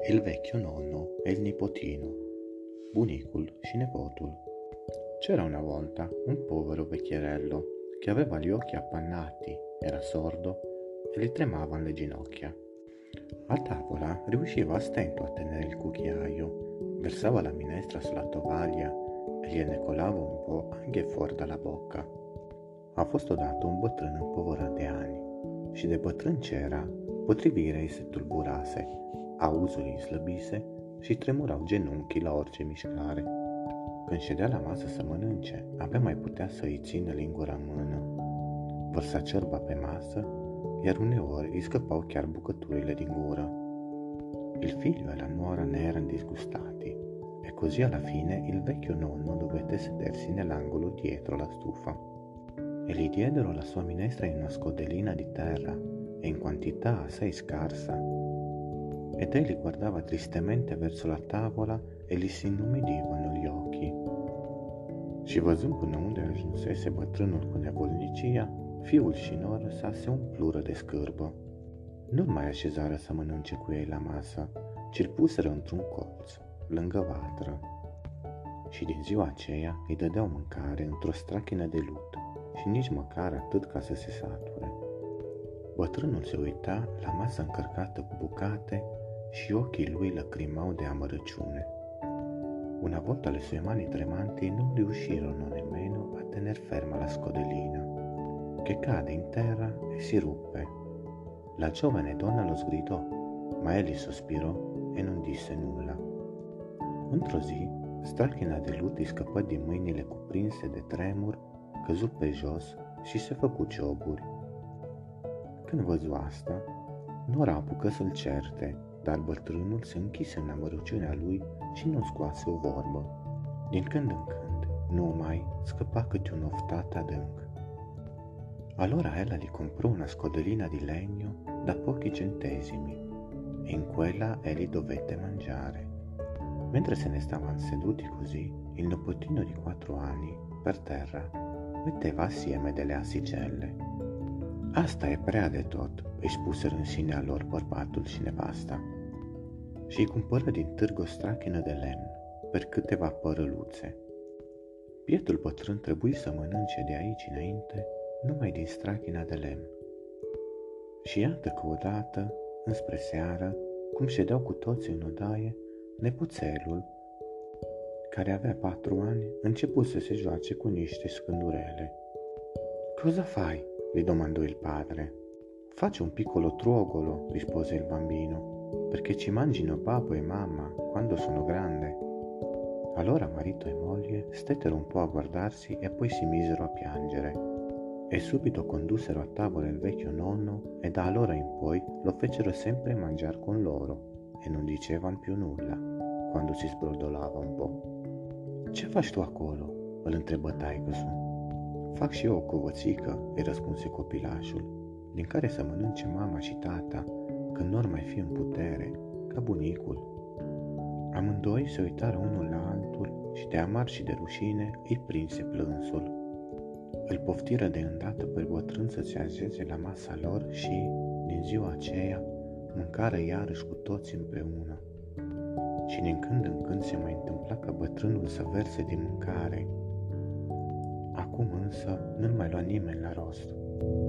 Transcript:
Il vecchio nonno e il nipotino, Bunicul și nepotul. C'era una volta un povero vecchierello che aveva gli occhi appannati, era sordo e gli tremavano le ginocchia. A tavola riusciva a stento a tenere il cucchiaio, versava la minestra sulla tovaglia e gliene colava un po' anche fuori dalla bocca. A fost odată un bătrân împovărat de ani și de bătrân ce era, potrivirea îi se tulburase, auzul îi slăbise și tremurau genunchii la orice mișcare. Când ședea la masă să mănânce, abia mai putea să îi țină lingura în mână. Vărsa ciorba pe masă, iar uneori îi scăpau chiar bucăturile din gură. Il figlio e la nuora ne erano disgustati e così alla fine il vecchio nonno dovette sedersi nell'angolo dietro la stufa. E gli diedero la sua minestra in una scodellina di terra e in quantità assai scarsa. Ed egli guardava tristemente verso la tavola e gli si inumidivano gli occhi. Și văzând până unde ajunsese bătrânul cu nevolnicia, fiul și nora sa se umplură de scârbă. Nu-l mai așezară să mănânce cu ei la masă, ci îl puseră într-un colț, lângă vatră. Și din ziua aceea îi dădeau mâncare într-o strachină de lut și nici măcar atât ca să se sature. Bătrânul se uita la masă încărcată cu bucate și ochii lui lacrimau de amărăciune. Una volta le sue mani tremanti non riuscirono nemmeno a tener ferma la scodellina, che cade in terra e si ruppe. La giovane donna lo sgridò, ma egli sospirò e non disse nulla. Într-o zi, strachina de lut îi scăpă din mâinile cuprinse de tremur, căzu pe jos și se făcu cioburi. Când văzu asta, nora apucă să-l certe, dar bătrânul se închise în amărăciunea lui și nu scoase o vorbă. Din când în când, numai scăpa câte un oftat adânc. Allora ella gli comprò una scodellina di legno da pochi centesimi e in quella egli dovette mangiare. Mentre se ne stavano seduti così, il nipotino di 4 anni, per terra, metteva assieme delle asticelle. Asta e prea de tot, îi spuseră în sinea lor bărbatul și nevasta. Și îi cumpără din târg o strachină de lemn, per câteva părăluțe. Bietul bătrân trebuie să mănânce de aici înainte numai din strachina de lemn. Și iată că odată, înspre seară, cum ședeau cu toții în odaie, nepoțelul, care avea 4 ani, început să se joace cu niște scândurele. Cosa fai? Gli domandò il padre. Faccio un piccolo truogolo, rispose il bambino, perché ci mangino babbo e mamma quando sono grande. Allora marito e moglie stettero un po' a guardarsi e poi si misero a piangere. E subito condussero a tavola il vecchio nonno e da allora in poi lo fecero sempre mangiar con loro e non dicevan più nulla quando si sbrodolava un po'. Ce faci tu acolo? Îl întrebă taică-su. Fac și eu o covățică, îi răspunse copilașul, din care să mănânce mama și tata când n-or mai fi în putere, ca bunicul. Amândoi se uitară unul la altul și de amar și de rușine îi prinse plânsul. Îl poftiră de îndată pe bătrân să se așeze la masa lor și, din ziua aceea, mâncară iarăși cu toți împreună. Și din când în când se mai întâmpla ca bătrânul să verse din mâncare. Acum însă nu-l mai lua nimeni la rost.